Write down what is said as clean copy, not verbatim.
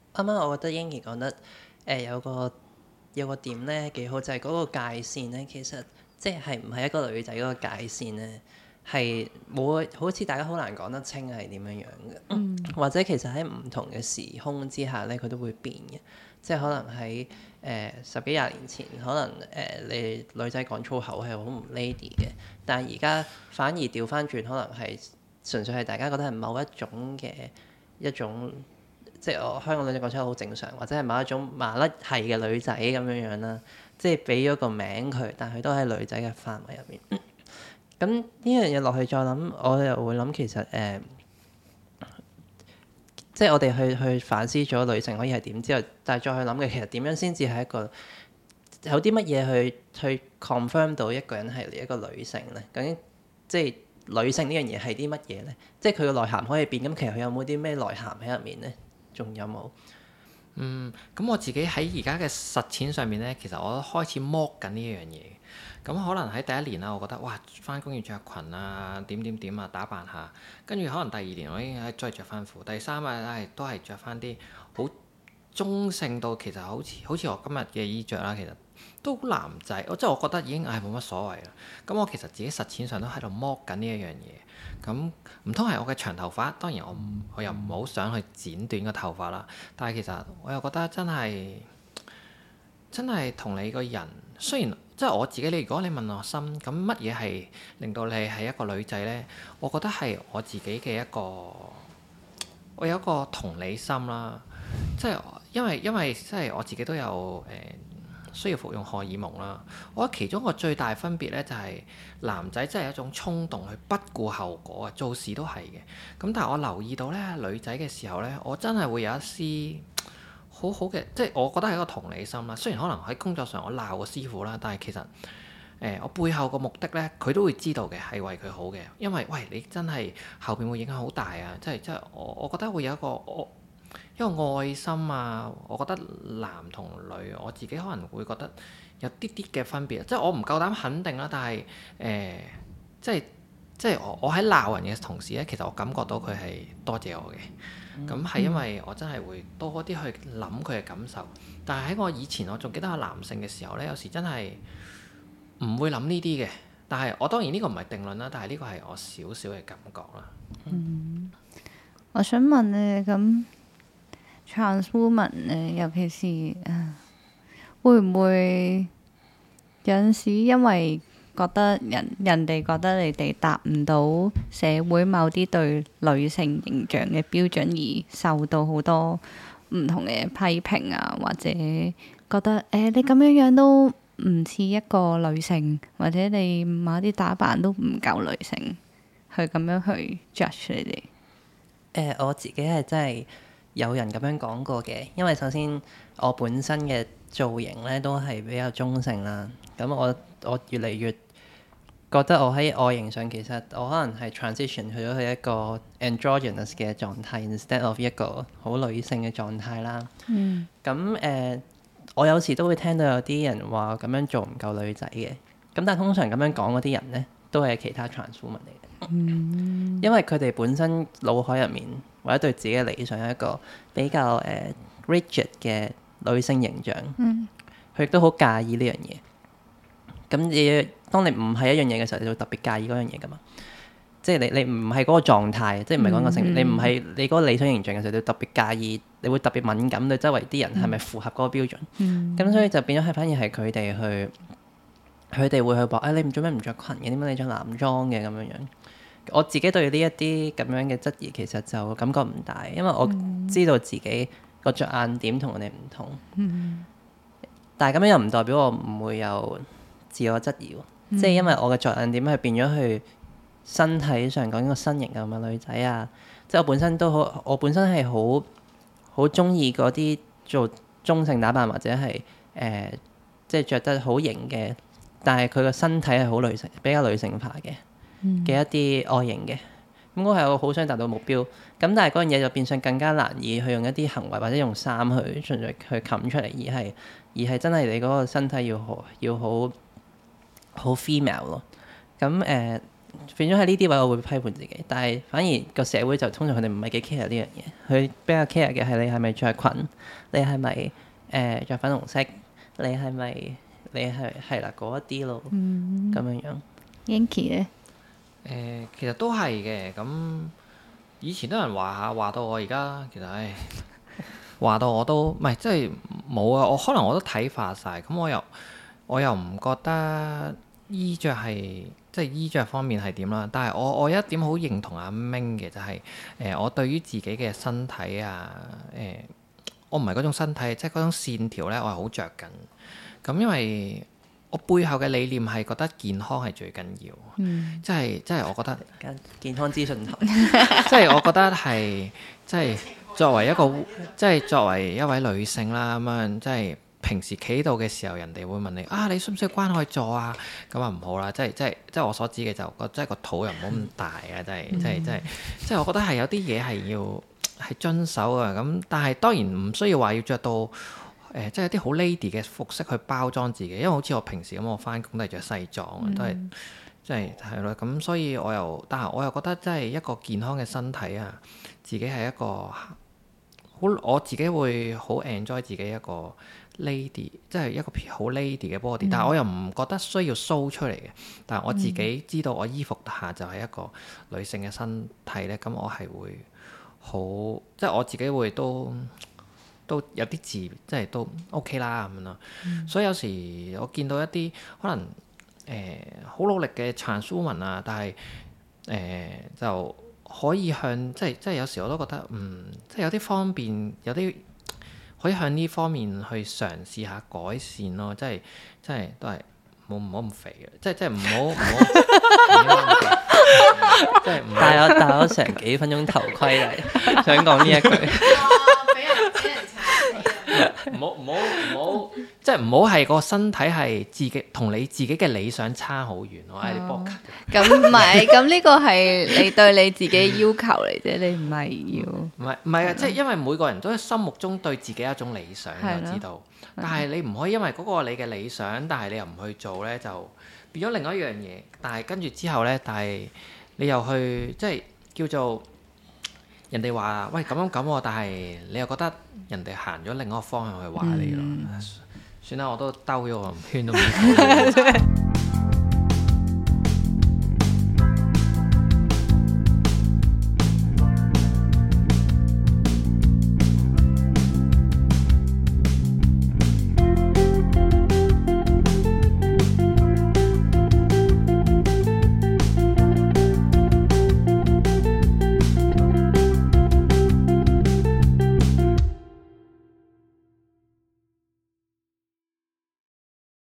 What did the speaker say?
啱啱我覺得英兒講得有個點咧幾好，就係、嗰個界線咧，其實即係唔係一個女仔嗰個界線咧，係冇好似大家好難講得清係點樣樣嘅，或者其實喺唔同嘅時空之下咧，佢都會變嘅。即係可能喺十幾廿年前，可能你女仔講粗口係好唔 lady 嘅，但係而家反而調翻轉，可能係純粹係大家覺得係某一種嘅一種。即係我香港女仔講出嚟好正常，或者係某一種麻甩係嘅女仔咁樣樣啦，即係俾咗個名佢，但佢都喺女仔嘅範圍入面。咁呢樣嘢落去再諗，我又會諗其實即係我哋去反思咗女性可以係點之後，但係再去諗嘅其實點樣先至係一個有啲乜嘢去 confirm 到一個人係一個女性咧？究竟即係女性呢樣嘢係啲乜嘢咧？即係佢個內涵可以變，咁其實佢有冇啲咩內涵喺入面咧？仲有冇？ 咁我自己喺而家嘅實踐上面咧，其實我都開始剝緊呢一樣嘢。咁可能喺第一年啦，我覺得哇，翻工要着裙啊，點點點啊，打扮下。跟住可能第二年我已經再着翻褲，第三日都係着翻啲好中性到其實好似我今日嘅衣着啦，其實都好男仔。即係我覺得已經冇乜所謂啦。咁我其實自己實踐上都喺度剝緊呢一樣嘢。咁唔通係我嘅長頭髮？當然我又唔好想去剪短個頭髮啦。但係其實我又覺得真係同你個人，雖然即係我自己，如果你問我心，咁乜嘢係令到你係一個女仔呢？我覺得係我自己嘅我有一個同理心啦。即係因為即係我自己都有需要服用荷爾蒙啦。我覺得其中一個最大分別咧，就係男仔真係一種衝動去不顧後果啊，做事都係嘅。咁但係我留意到咧，女仔嘅時候咧，我真係會有一絲好好嘅，即係我覺得係一個同理心啦。雖然可能喺工作上我鬧個師傅啦，但係其實我背後個目的咧，佢都會知道嘅，係為佢好嘅。因為喂，你真係後邊會影響好大啊！即係我覺得會有一個愛心啊。我覺得男同女，我自己可能會覺得有啲啲嘅分別。即係我唔夠膽肯定啦，但係即係我喺鬧人嘅同時咧，其實我感覺到佢係多謝我嘅。咁係因為我真係會多啲去諗佢嘅感受。但係喺我以前，我仲記得我男性嘅時候咧，有時真係唔會諗呢啲嘅。但係我當然呢個唔係定論啦，但係呢個係我少少嘅感覺啦。 我想問咧，咁 trans woman 咧，尤其是會唔會有陣時因為覺得人哋覺得你哋達唔到社會某啲對女性形象嘅標準，而受到好多唔同嘅批評啊，或者覺得你咁樣都唔似一個女性，或者你某啲打扮都唔夠女性，去咁樣去 judge 你哋？ 我自己係真係有人咁樣講過嘅，因為首先我本身嘅造型咧都係比較中性啦。咁我越嚟越覺得我喺外形上其實我可能係 transition 去咗去一個 androgynous 嘅狀態，instead of 一個好女性嘅狀態啦。咁我有時都會聽到有啲人話咁樣做唔夠女仔嘅。咁但係通常咁樣講嗰啲人咧，都係其他 trans woman 嚟嘅。因為佢哋本身腦海入面或者對自己嘅理想係一個比較rigid 嘅女性形象，佢亦都好介意呢樣嘢。咁當你唔係一樣嘢嘅時候，你就會特別介意嗰樣嘢噶嘛。即係你唔係嗰個狀態，即係唔係講個性別，你唔係你嗰個理想形象嘅時候，你特別介意，你會特別敏感對周圍啲人係咪符合嗰個標準。咁所以就變咗係反而係佢哋會去話你唔做咩唔着裙嘅，點解你着男裝嘅咁樣樣？我自己對呢一啲咁樣嘅質疑其實就感覺唔大，因為我知道自己個着眼點同人哋唔同。但係咁樣又唔代表我唔會有自我質疑喎。即係因為我嘅着眼點係變咗去身體上講個身形啊，咁嘅女仔啊，即係我本身係好中意嗰啲做中性打扮或者係即係着得好型嘅，但係佢個身體係好女性，比較女性化嘅一啲外形嘅。咁我係我好想達到目標，咁但係嗰樣嘢就變相更加難以去用一啲行為或者用衫去盡力去冚出嚟，而係真係你嗰個身體要好 female 咯。咁變咗喺呢啲位，我會批判自己。但係反而個社會就通常佢哋唔係幾 care 呢樣嘢，佢比較 care 嘅係你係咪着裙，你係咪着粉紅色，你係咪你係啦嗰一啲咯，咁樣樣。 Yanky 咧， 其實都係嘅。咁以前都有人話到我而家，其實話到我都唔係，即係冇啊。我可能我都睇化晒。咁我又唔覺得衣着係即係衣着方面係點啦。但係我有一點好認同阿明嘅，就係我對於自己嘅身體啊，我唔係嗰種身體，即係嗰種線條咧，我係好着緊。咁因為我背後嘅理念係覺得健康係最緊要，即係我覺得健康資訊台， 即係我覺得係即係作為一位女性啦，咁樣即係平時企喺度嘅時候，人哋會問你啊，你需唔需要關愛座啊？咁啊唔好啦，即係我所指嘅就即係個肚又唔好咁大啊，即係我覺得係有啲嘢係要係遵守啊。咁但係當然唔需要話要着到。即係有啲好 lady 嘅服飾去包裝自己，因為好似我平時咁，我翻工都係着西裝，都係即係咯。咁所以但係我又覺得即係一個健康嘅身體啊，自己係一個好，我自己會好 enjoy 自己一個 lady，即係一個好 lady 嘅 body。但係我又唔覺得需要 show 出嚟嘅。但係我自己知道我衣服下就係一個女性嘅身體咧，咁我係會好，即係我自己會都有啲字，即係都 OK 啦咁樣咯。所以有時我見到一啲可能好努力嘅 trans woman 啊，但係就可以向即係有時我都覺得即係有啲方面有啲可以向呢方面去嘗試下改善咯。即係都係唔好咁肥嘅，即係唔好即係戴咗成幾分鐘頭盔嚟，想講呢一句。 唔好，即係唔好係個身體係自己同你自己嘅理想差好遠。我係你搏咁唔係，咁呢個係你對你自己要求嚟啫，你唔係要。 唔係啊，即係因為每個人都喺心目中對自己一種理想，我知道。但係你唔可以因為嗰個你嘅理想，但係你又唔去做咧，就變咗另外一樣嘢。但係跟住之後咧，但係你又去即係叫做。人哋話喂咁喎，但係你又覺得人哋行咗另一個方向去話你咯。算啦，我都兜咗個圈都唔知。